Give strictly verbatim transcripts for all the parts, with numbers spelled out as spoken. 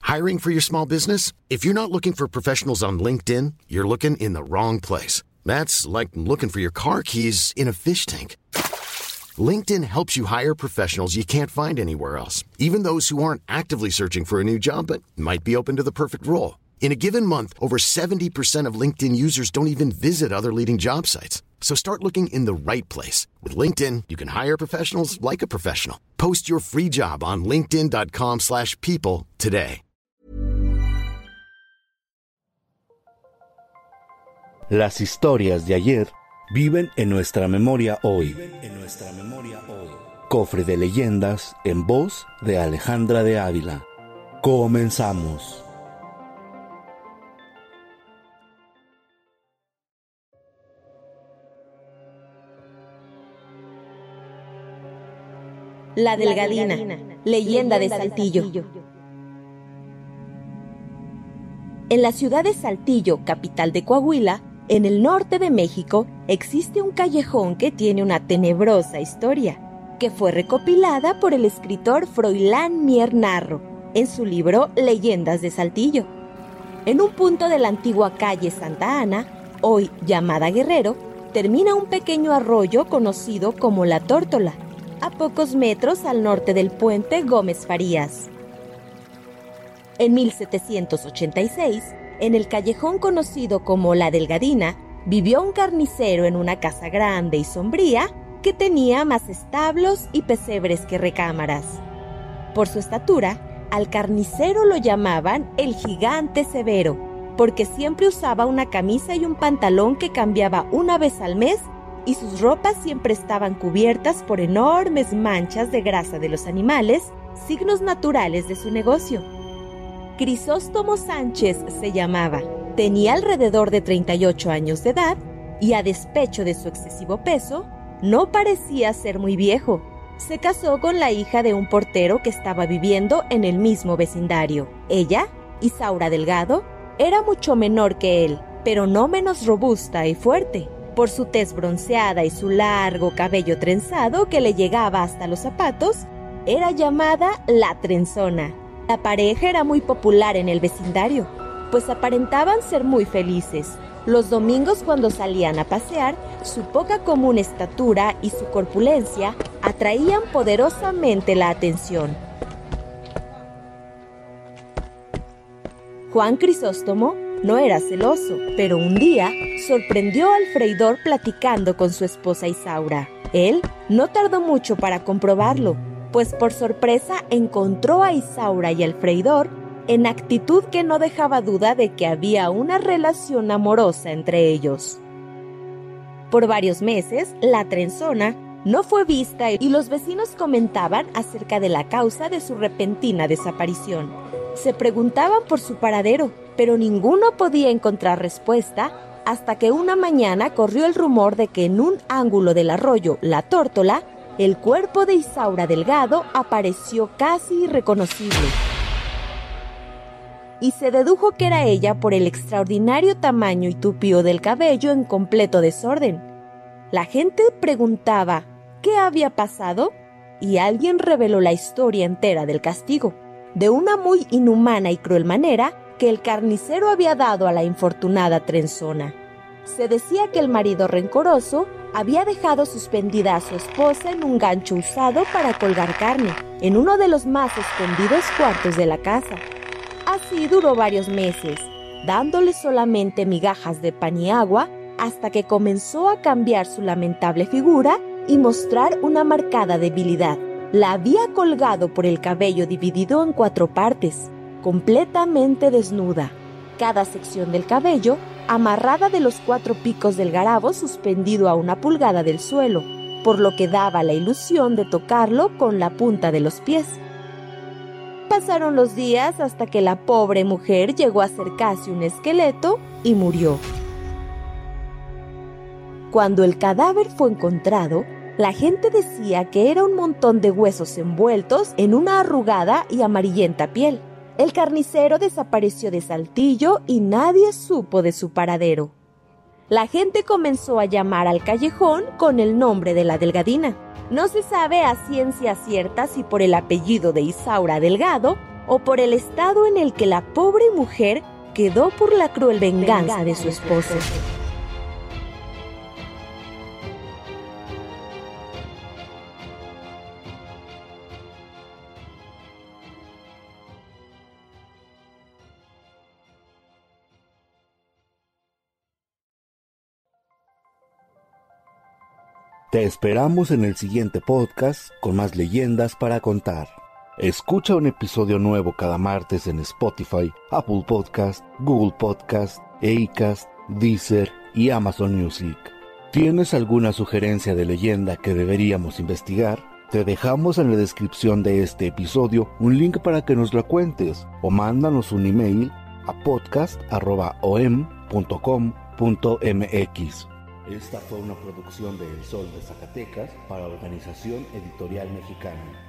Hiring for your small business? If you're not looking for professionals on LinkedIn, you're looking in the wrong place. That's like looking for your car keys in a fish tank. LinkedIn helps you hire professionals you can't find anywhere else, even those who aren't actively searching for a new job but might be open to the perfect role. In a given month, over seventy percent of LinkedIn users don't even visit other leading job sites. So start looking in the right place. With LinkedIn, you can hire professionals like a professional. Post your free job on linkedin dot com slash people today. Las historias de ayer viven en nuestra memoria hoy. En nuestra memoria hoy. Cofre de leyendas en voz de Alejandra de Ávila. Comenzamos. La Delgadina, leyenda de Saltillo. En la ciudad de Saltillo, capital de Coahuila, en el norte de México, existe un callejón que tiene una tenebrosa historia, que fue recopilada por el escritor Froilán Mier Narro en su libro Leyendas de Saltillo. En un punto de la antigua calle Santa Ana, hoy llamada Guerrero, termina un pequeño arroyo conocido como La Tórtola, a pocos metros al norte del puente Gómez Farías. En mil setecientos ochenta y seis, en el callejón conocido como La Delgadina, vivió un carnicero en una casa grande y sombría que tenía más establos y pesebres que recámaras. Por su estatura, al carnicero lo llamaban el Gigante Severo, porque siempre usaba una camisa y un pantalón que cambiaba una vez al mes y sus ropas siempre estaban cubiertas por enormes manchas de grasa de los animales, signos naturales de su negocio. Crisóstomo Sánchez se llamaba, tenía alrededor de treinta y ocho años de edad y a despecho de su excesivo peso, no parecía ser muy viejo. Se casó con la hija de un portero que estaba viviendo en el mismo vecindario. Ella, Isaura Delgado, era mucho menor que él, pero no menos robusta y fuerte. Por su tez bronceada y su largo cabello trenzado que le llegaba hasta los zapatos, era llamada la Trenzona. La pareja era muy popular en el vecindario, pues aparentaban ser muy felices. Los domingos, cuando salían a pasear, su poca común estatura y su corpulencia atraían poderosamente la atención. Juan Crisóstomo no era celoso, pero un día sorprendió al freidor platicando con su esposa Isaura. Él no tardó mucho para comprobarlo, pues por sorpresa encontró a Isaura y al freidor en actitud que no dejaba duda de que había una relación amorosa entre ellos. Por varios meses, la Trenzona no fue vista y los vecinos comentaban acerca de la causa de su repentina desaparición. Se preguntaban por su paradero, pero ninguno podía encontrar respuesta hasta que una mañana corrió el rumor de que en un ángulo del arroyo La Tórtola, el cuerpo de Isaura Delgado apareció casi irreconocible. Y se dedujo que era ella por el extraordinario tamaño y tupío del cabello en completo desorden. La gente preguntaba ¿qué había pasado? Y alguien reveló la historia entera del castigo, de una muy inhumana y cruel manera que el carnicero había dado a la infortunada Trenzona. Se decía que el marido rencoroso había dejado suspendida a su esposa en un gancho usado para colgar carne, en uno de los más escondidos cuartos de la casa. Así duró varios meses, dándole solamente migajas de pan y agua, hasta que comenzó a cambiar su lamentable figura y mostrar una marcada debilidad. La había colgado por el cabello dividido en cuatro partes, completamente desnuda, cada sección del cabello amarrada de los cuatro picos del garabo suspendido a una pulgada del suelo, por lo que daba la ilusión de tocarlo con la punta de los pies. Pasaron los días hasta que la pobre mujer llegó a ser casi un esqueleto y murió. Cuando el cadáver fue encontrado, la gente decía que era un montón de huesos envueltos en una arrugada y amarillenta piel. El carnicero desapareció de Saltillo y nadie supo de su paradero. La gente comenzó a llamar al callejón con el nombre de La Delgadina. No se sabe a ciencia cierta si por el apellido de Isaura Delgado o por el estado en el que la pobre mujer quedó por la cruel venganza de su esposo. Te esperamos en el siguiente podcast con más leyendas para contar. Escucha un episodio nuevo cada martes en Spotify, Apple Podcast, Google Podcast, Acast, Deezer y Amazon Music. ¿Tienes alguna sugerencia de leyenda que deberíamos investigar? Te dejamos en la descripción de este episodio un link para que nos la cuentes o mándanos un email a podcast arroba o m punto com punto m x. Esta fue una producción de El Sol de Zacatecas para Organización Editorial Mexicana.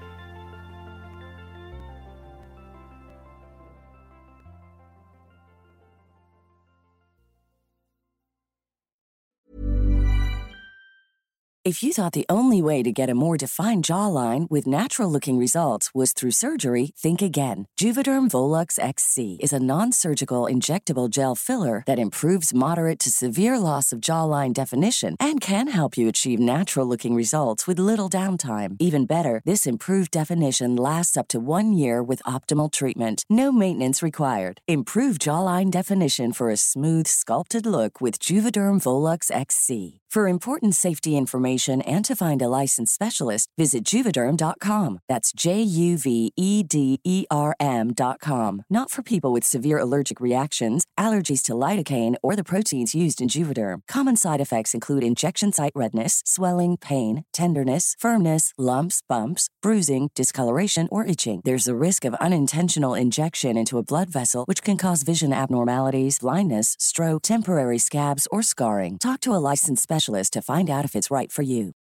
If you thought the only way to get a more defined jawline with natural-looking results was through surgery, think again. Juvederm Volux X C is a non-surgical injectable gel filler that improves moderate to severe loss of jawline definition and can help you achieve natural-looking results with little downtime. Even better, this improved definition lasts up to one year with optimal treatment. No maintenance required. Improve jawline definition for a smooth, sculpted look with Juvederm Volux X C. For important safety information and to find a licensed specialist, visit Juvederm dot com. That's J U V E D E R M dot com. Not for people with severe allergic reactions, allergies to lidocaine, or the proteins used in Juvederm. Common side effects include injection site redness, swelling, pain, tenderness, firmness, lumps, bumps, bruising, discoloration, or itching. There's a risk of unintentional injection into a blood vessel, which can cause vision abnormalities, blindness, stroke, temporary scabs, or scarring. Talk to a licensed specialist to find out if it's right for you.